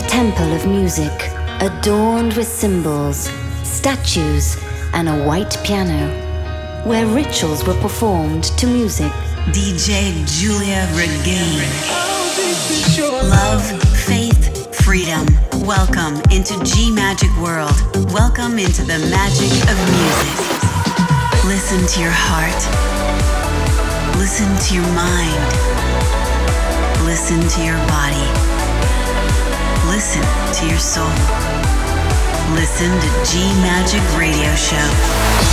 temple of music, adorned with symbols, statues, and a white piano, where rituals were performed to music. DJ Giulia Regain. Love, faith, freedom. Welcome into G Magic World. Welcome into the magic of music. Listen to your heart. Listen to your mind. Listen to your body. Listen to your soul. Listen to G Magic Radio Show.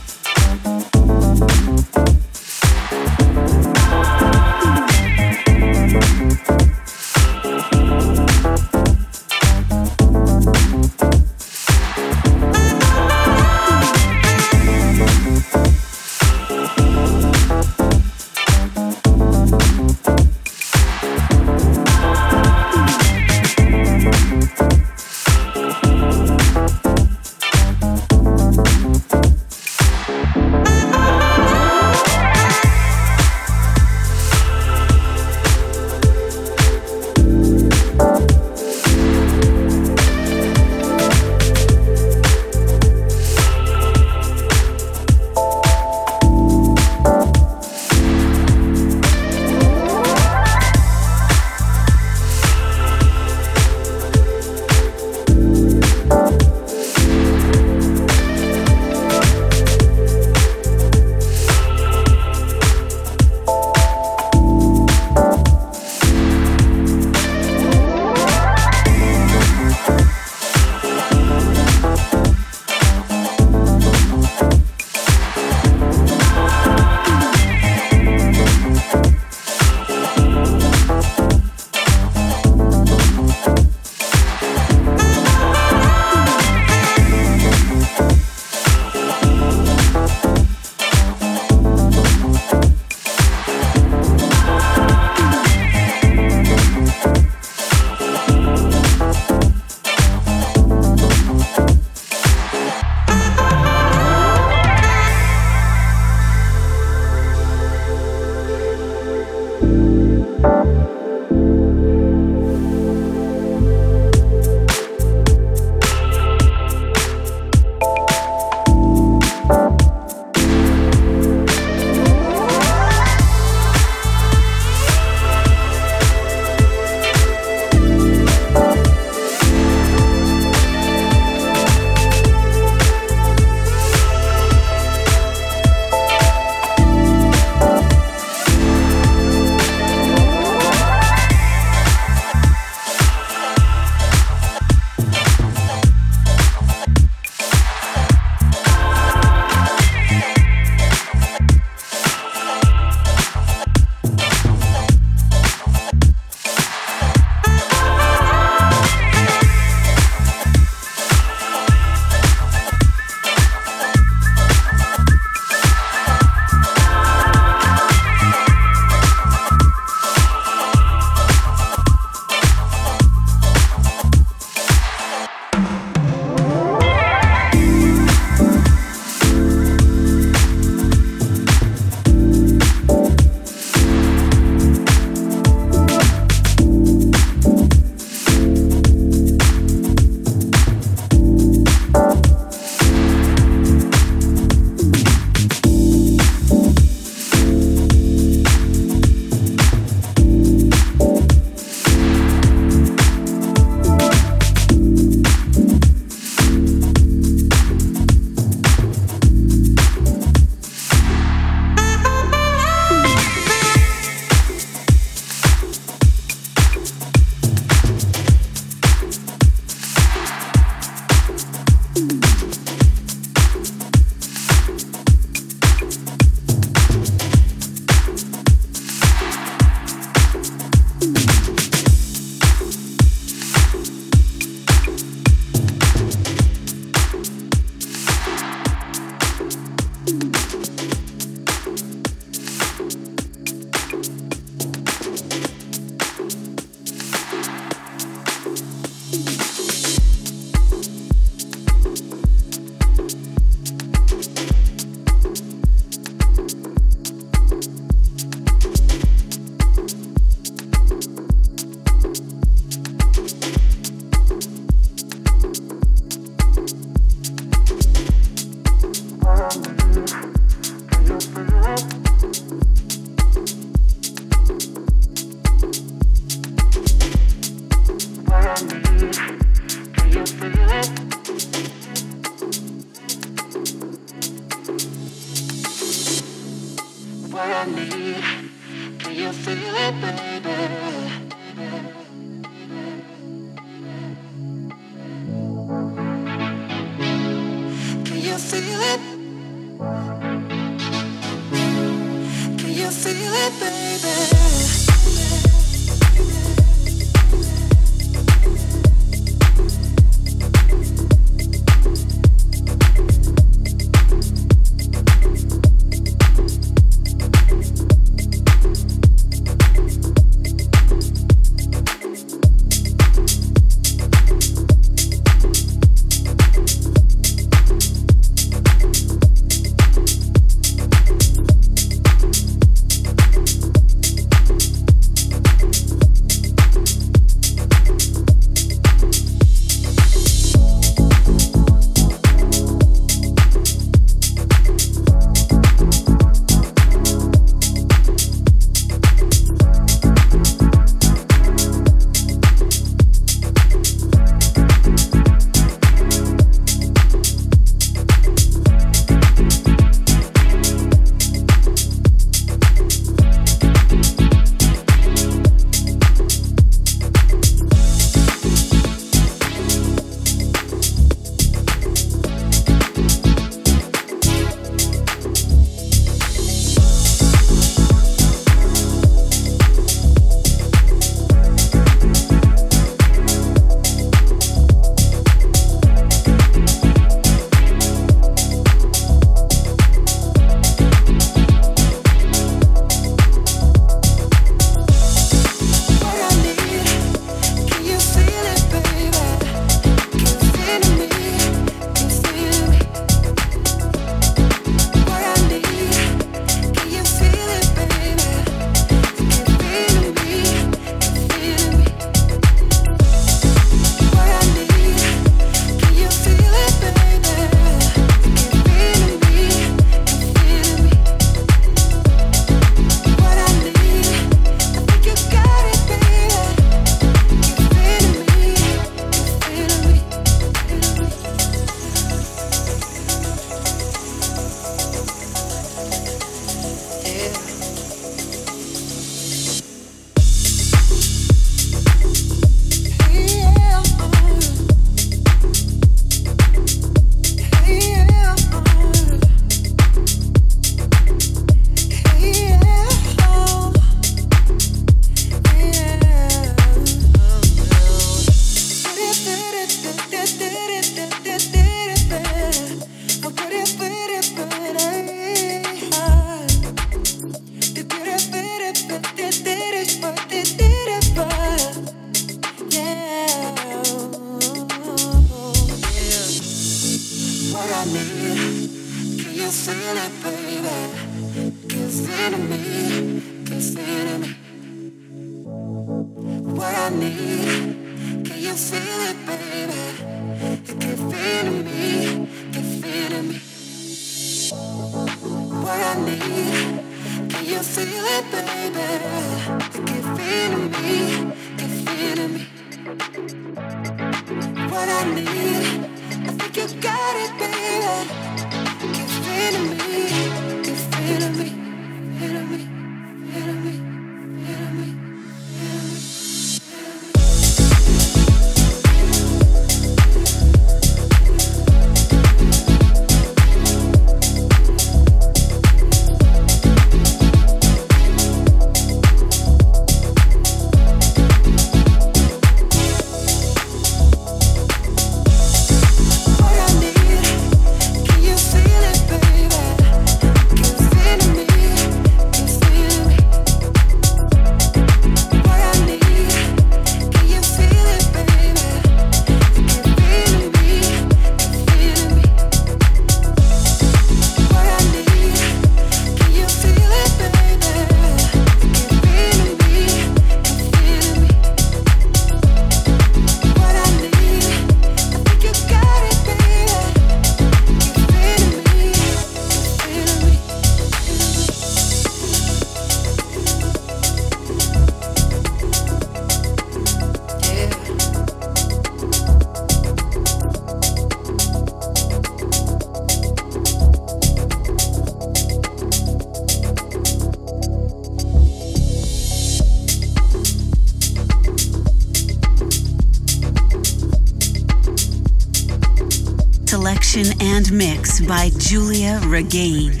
and mix by Giulia Regain.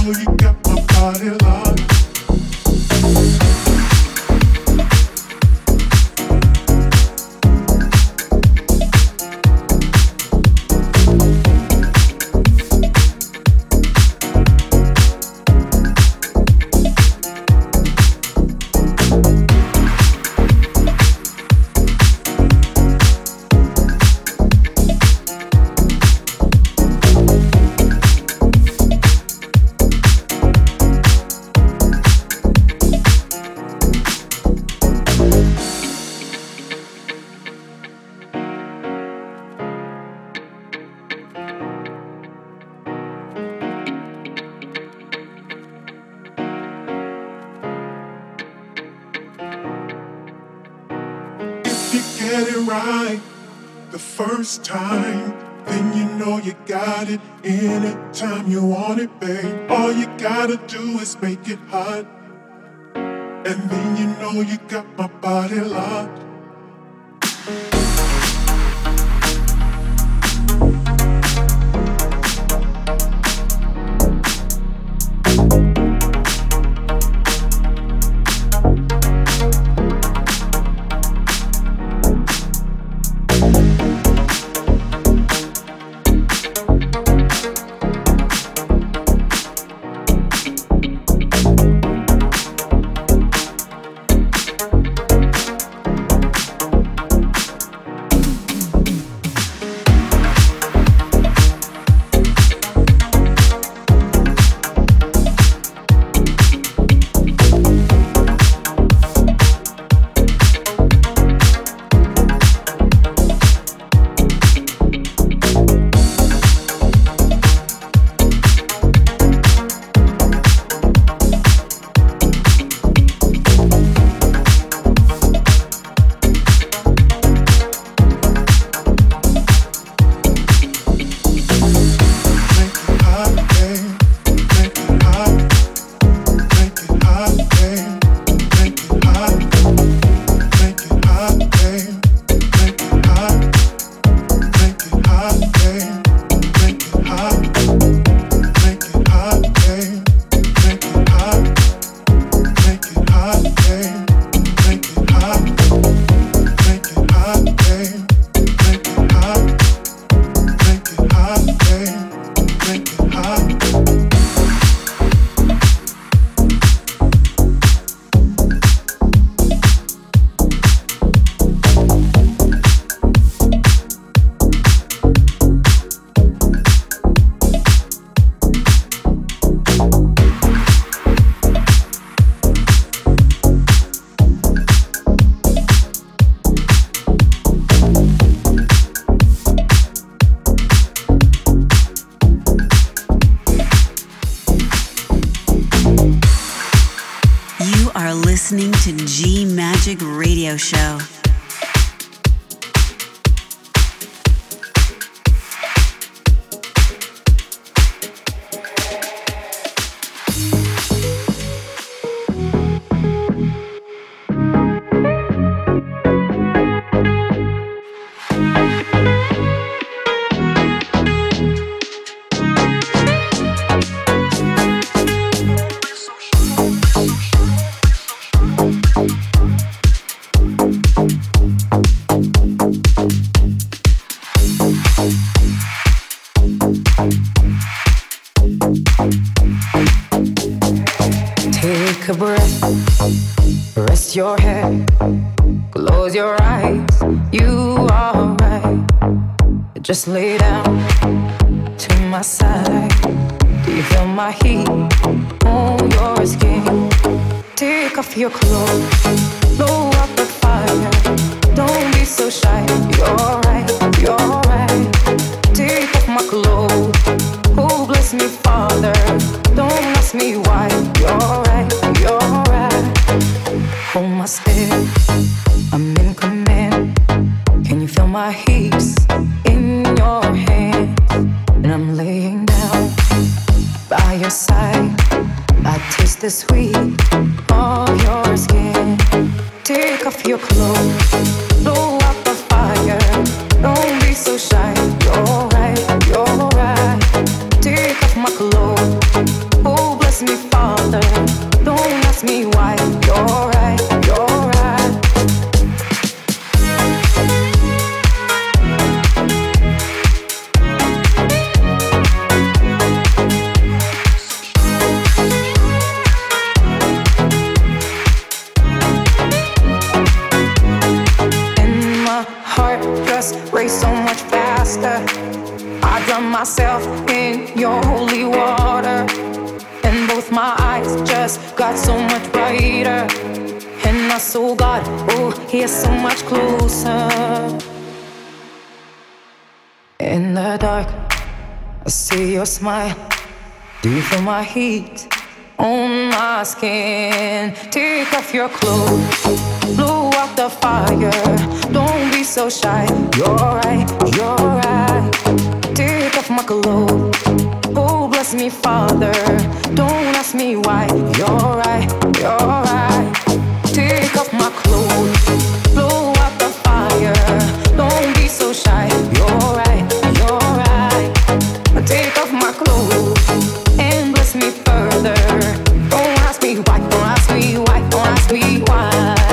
get it right the first time, then you know you got it anytime you want it, babe. All you gotta do is make it hot, and then you know you got my body locked. Listening to G Magic Radio Show. Your head, close your eyes, you are right. Just lay down to my side. Do you feel my heat on your skin? Take off your clothes, blow up the fire. Don't be so shy, you're right, you're right. Take off my clothes, oh bless me Father. Don't ask me why, you're right, you're right. Hold my step, I'm in command. Can you feel my hips in your hands? And I'm laying down by your side. I taste the sweet of your skin. Take off your clothes, blow up the fire. Don't be so shy, you're right, you're right. Take off my clothes, oh bless me, Father. Don't ask me why. You're right, you're right. And my heart just raced so much faster. I drown myself in your holy water, and both my eyes just got so much brighter. And I saw God, oh, He is so much closer. In the dark, I see your smile. Do you feel my heat on my skin? Take off your clothes, blow out the fire. Don't be so shy. You're right, you're right. Take off my clothes. Oh, bless me, Father. Don't ask me why. You're right, you're right. Take off my clothes, blow out the fire. Don't be so shy. You're right, you're right. Take off my clothes and bless me further. Don't ask me why, don't ask me why, don't ask me why.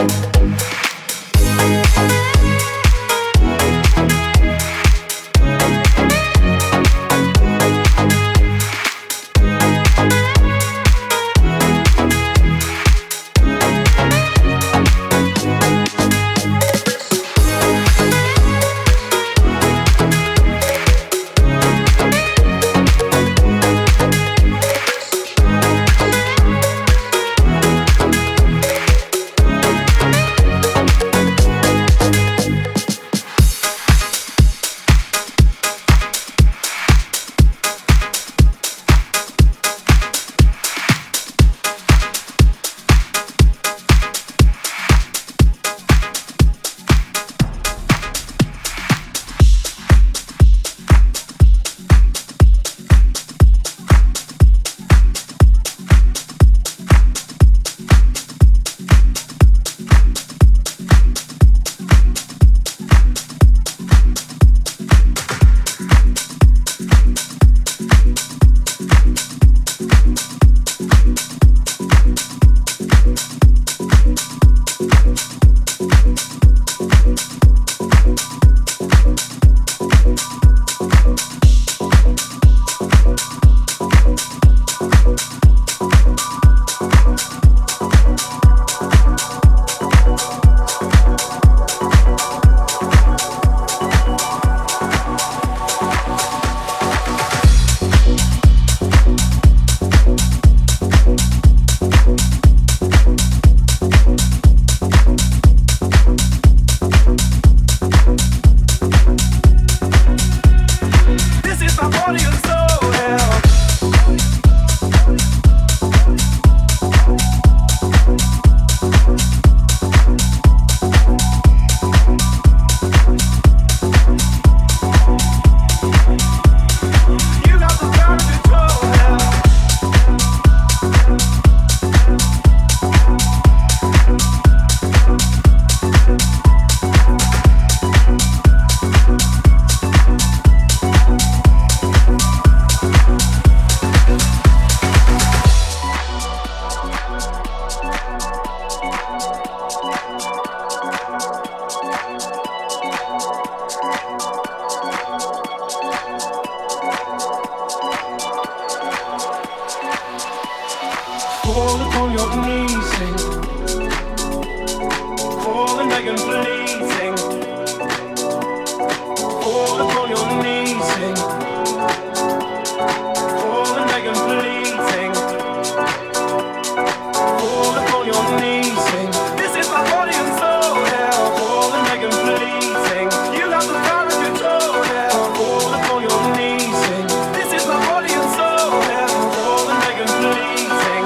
Fall upon your knees, sing. Fall and beg and please, sing. Fall upon your knees, sing. Fall and beg and please, sing. Fall upon your knees, sing. This is my body and soul, yeah. Fall and beg and please, sing. You have the power of control, yeah. Fall upon your knees, sing. This is my body and soul, yeah. Fall and beg and please, sing.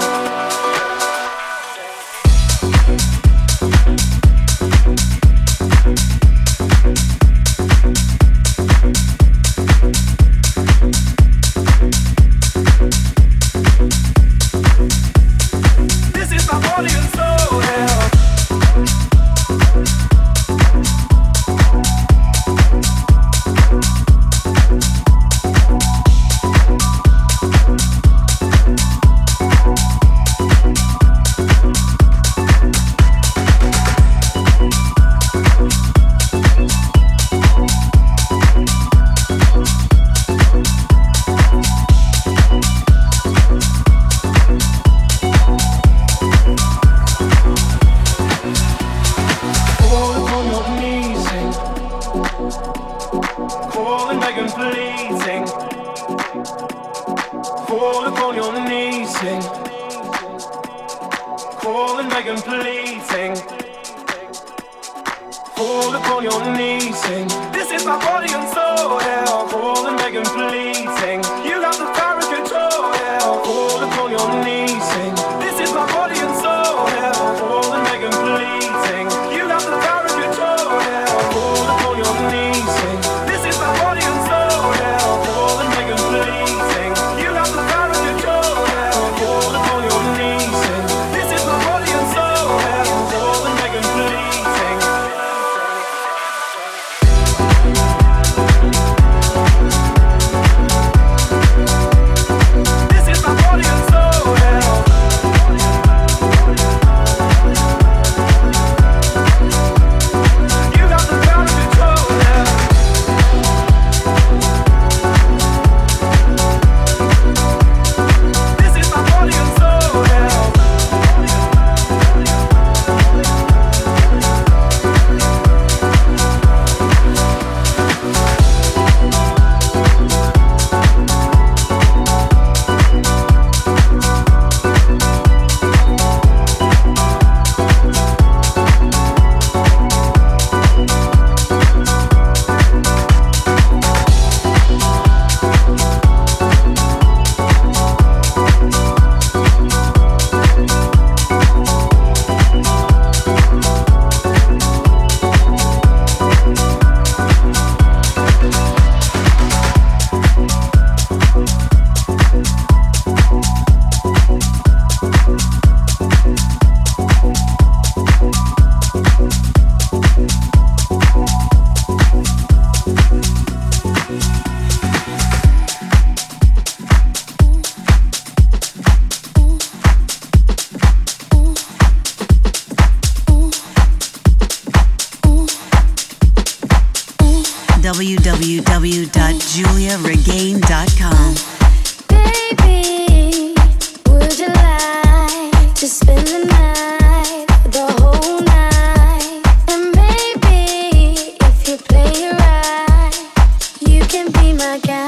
falling, begging, pleading. Fall upon your knees, sing. This is my body and soul, yeah. Falling, begging, pleading. You got the power and control, yeah. Fall upon your knees, sing. This is my body and soul, yeah. Falling, begging, pleading. You got the power and control, yeah. Fall upon your knees, sing. This is my body and soul, yeah. Falling, begging, pleading. You got the power and control, yeah. Fall upon your knees, sing. This is my body and soul, yeah. Falling, begging, pleading. www.juliaregain.com. Baby, would you like to spend the night, the whole night? And maybe if you play it right, you can be my guy.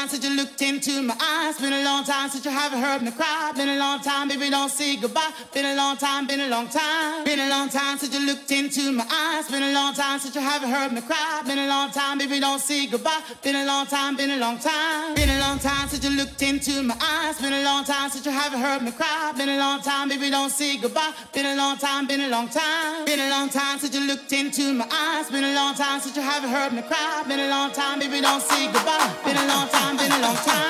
time since you looked into my eyes. Been a long time since you haven't heard me cry. Been a long time, baby, don't say goodbye. Been a long time, been a long time. Been a long time since you looked into my eyes. Been a long time since you haven't heard me cry. Been a long time, baby, don't say goodbye. Been a long time, been a long time. Been a long time since you looked into my eyes. Been a long time since you haven't heard me cry. Been a long time, baby, don't say goodbye. Been a long time, been a long time. Been a long time since you looked into my eyes. Been a long time since you haven't heard me cry. Been a long time, baby, don't say goodbye. Been a long time, been a long time.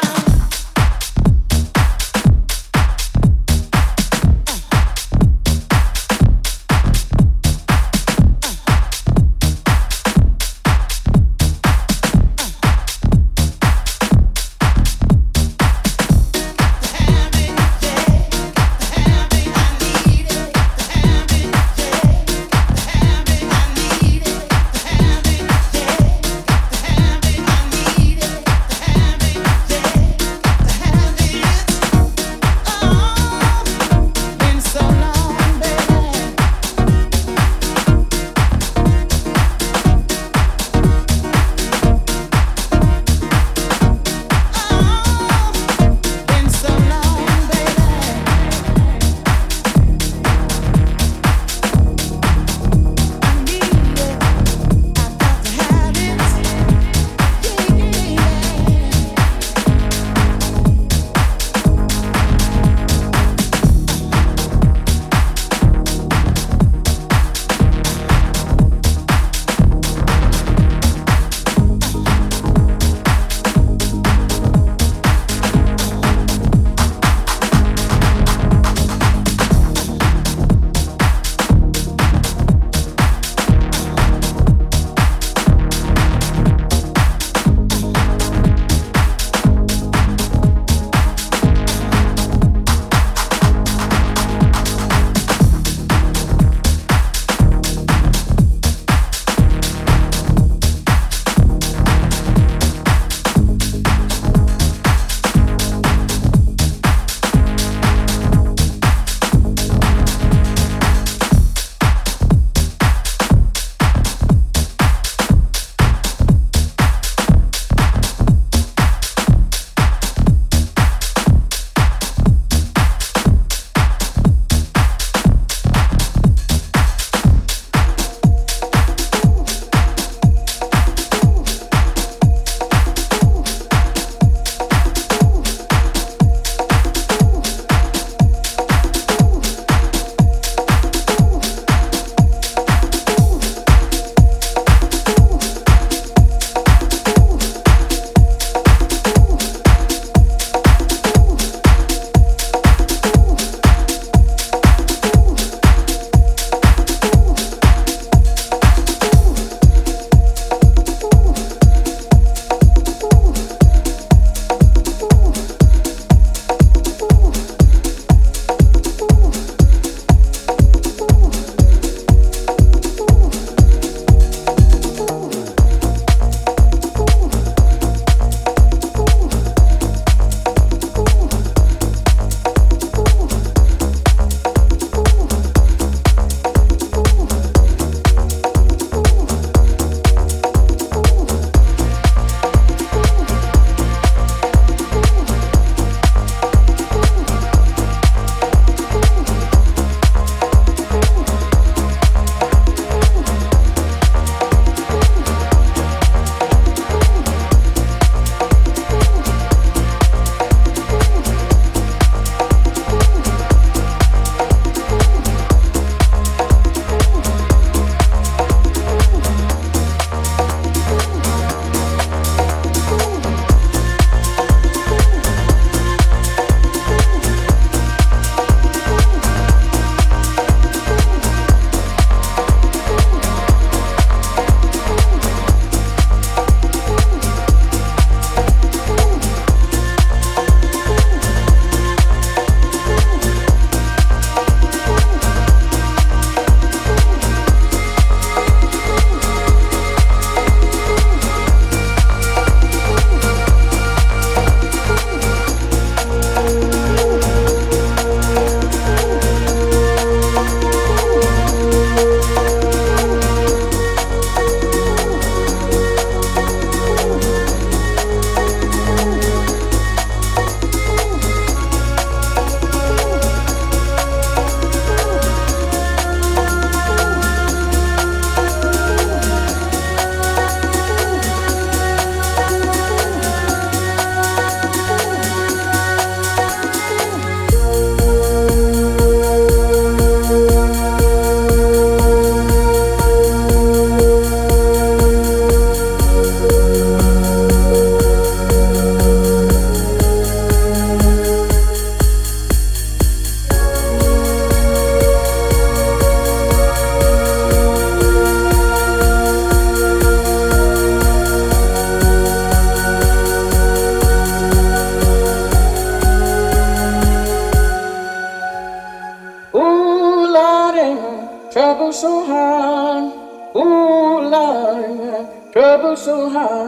Yeah.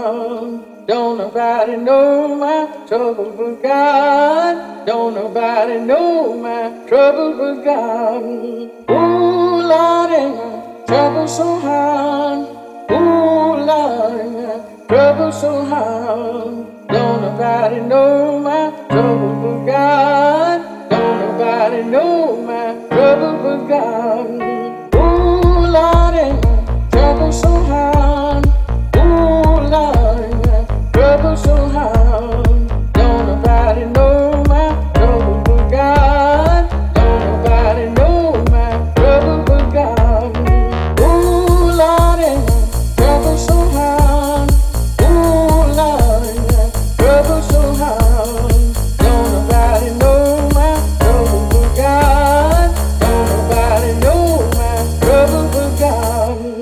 harm. Don't nobody know my trouble but God. Don't nobody know my trouble but God. Ooh, Lord, ain't my trouble so hard. Ooh, Lord, ain't my trouble so hard. Don't nobody know my trouble but God. Don't nobody know my trouble but God. Ooh, Lord, ain't my trouble so hard. Ooh, Lord, ain't my trouble so hard. Don't nobody know my trouble but God. Don't nobody know my trouble but God. Ooh, Lord, ain't my trouble so hard. Ooh, Lord, ain't my trouble so hard. Don't nobody know my trouble but God. Don't nobody know my trouble but God.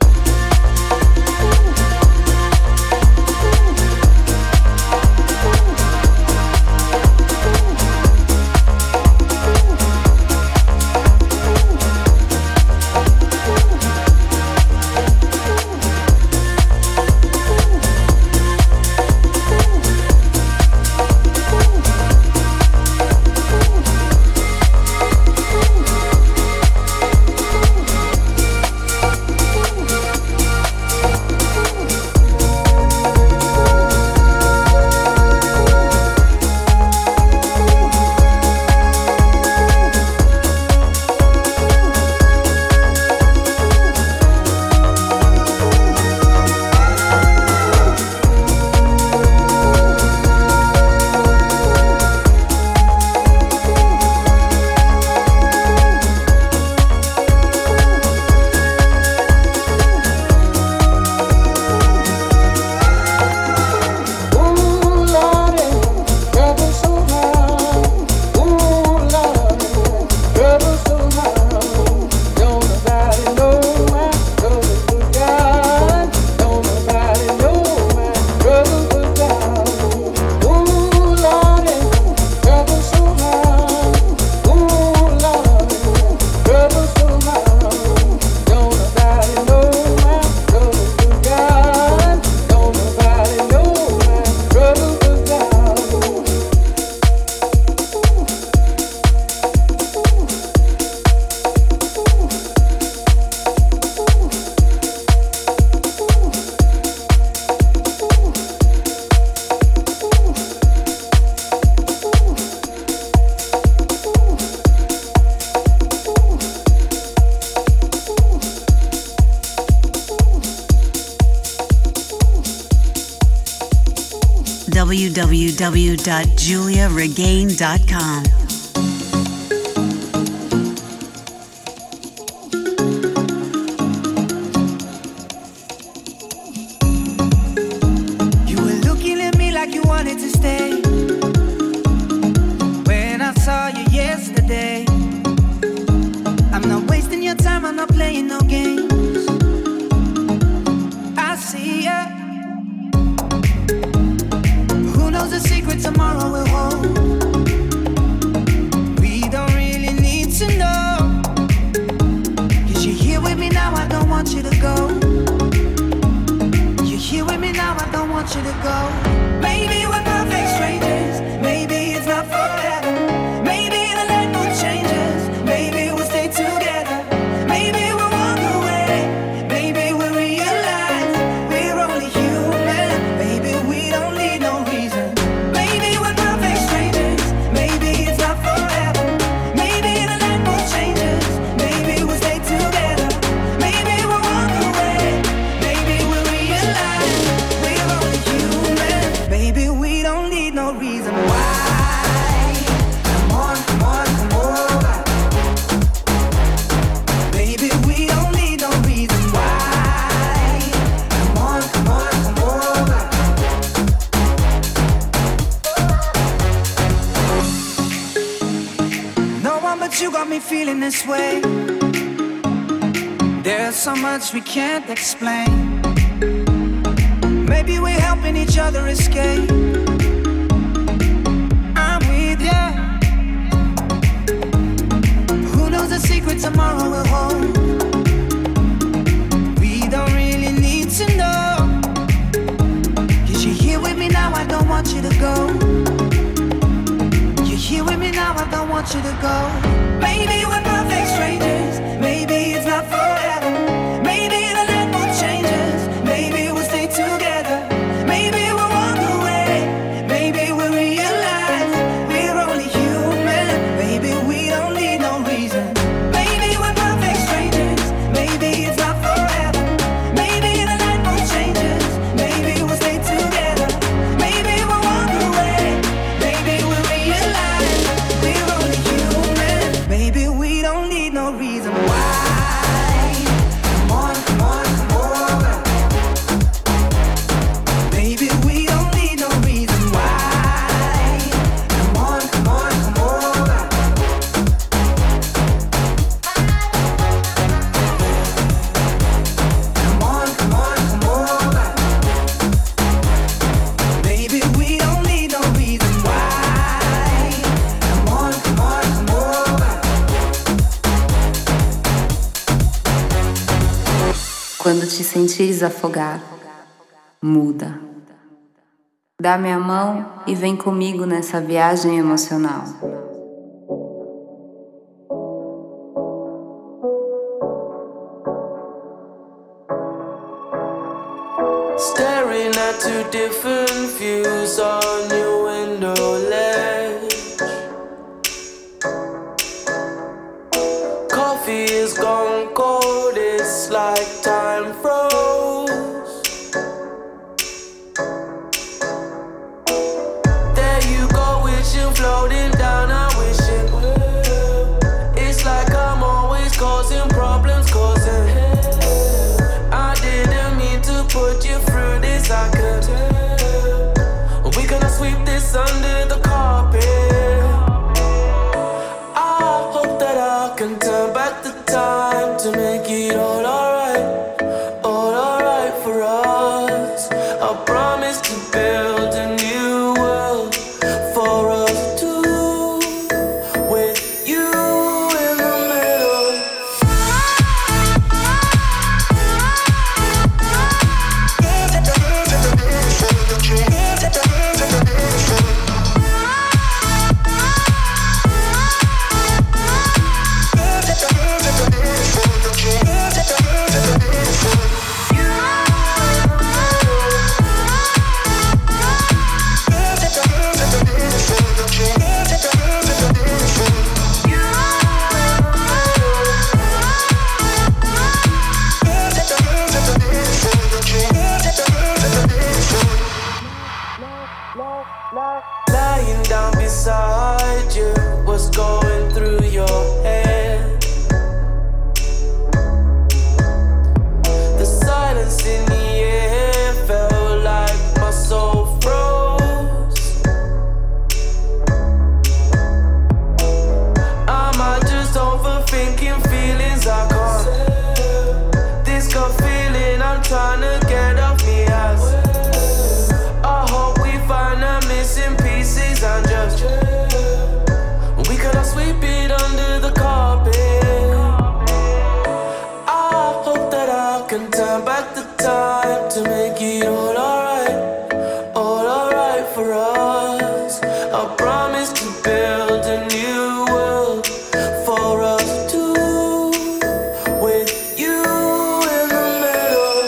www.juliaregain.com. You were looking at me like you wanted to stay. When I saw you yesterday, I'm not wasting your time, I'm not playing no games. I see ya. Who knows the secret tomorrow will hold? We don't really need to know. 'Cause you're here with me now, I don't want you to go. You're here with me now, I don't want you to go. Maybe we're perfect strangers, maybe it's not forever. Maybe the light will change us, maybe we'll stay together. Maybe we'll walk away, maybe we'll realize we're only human. Maybe we don't need no reason. Maybe we're perfect strangers, maybe it's not forever. Maybe the light will change us, maybe we'll stay together. Maybe we'll walk away, maybe we'll realize we're only human. Maybe we don't need no reason why. Come on, come on, come over. Maybe we don't need no reason why. Come on, come on, come over. No one but you got me feeling this way. There's so much we can't explain. Maybe we're helping each other escape. I'm with ya. Who knows the secret tomorrow will hold? We don't really need to know. want you to go. You're here with me now, I don't want you to go. Maybe we're perfect strangers, maybe it's not forever. Maybe the light will change us, maybe we'll stay together. Maybe we'll walk away, maybe we'll realize we're only human. Maybe we don't need no reason. Maybe we're perfect strangers, maybe it's not forever. Maybe the light will change us, maybe we'll stay together. Maybe we'll walk away, maybe we'll realize we're only human. Maybe we don't need no reason why. Come on, come on, come over. Maybe we don't need no reason why. Come on, come on, come over. Come on, come on, come over. Maybe we don't need no reason why. Come on, come on, come over. Quando te sentires afogar, muda. Dá minha mão e vem comigo nessa viagem emocional. Staring at two different views on your window ledge. Coffee is gone cold, it's like time froze. There you go, wishing, floating down, I wish it will. It's like I'm always causing problems, causing I didn't mean to put you through this, I could tell. We gonna sweep this under the carpet. I hope that I can turn back the time to make it all alright for us. I promise to build a new world for us two, with you in the middle. Lying down beside you, what's going through your head? The silence in the air felt like my soul froze. Am I just overthinking feelings I can't? This gut feeling I'm trying to get off me ass. I hope we find the missing pieces and just we cannot sweep it under the carpet. I hope that I can turn back the time to make it all alright for us. I promise to build a new world for us two, with you in the middle.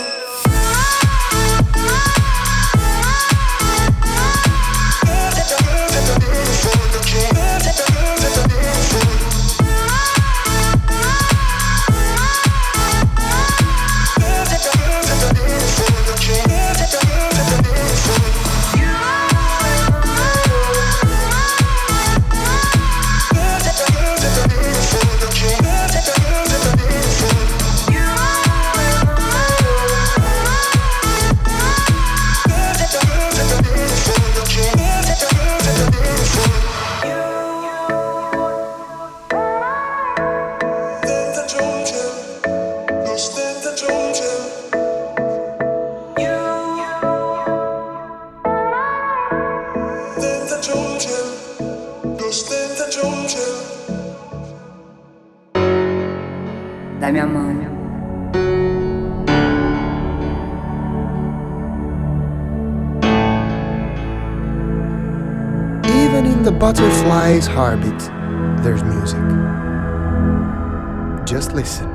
Dá minha mão. the butterfly's heartbeat, there's music. Just listen.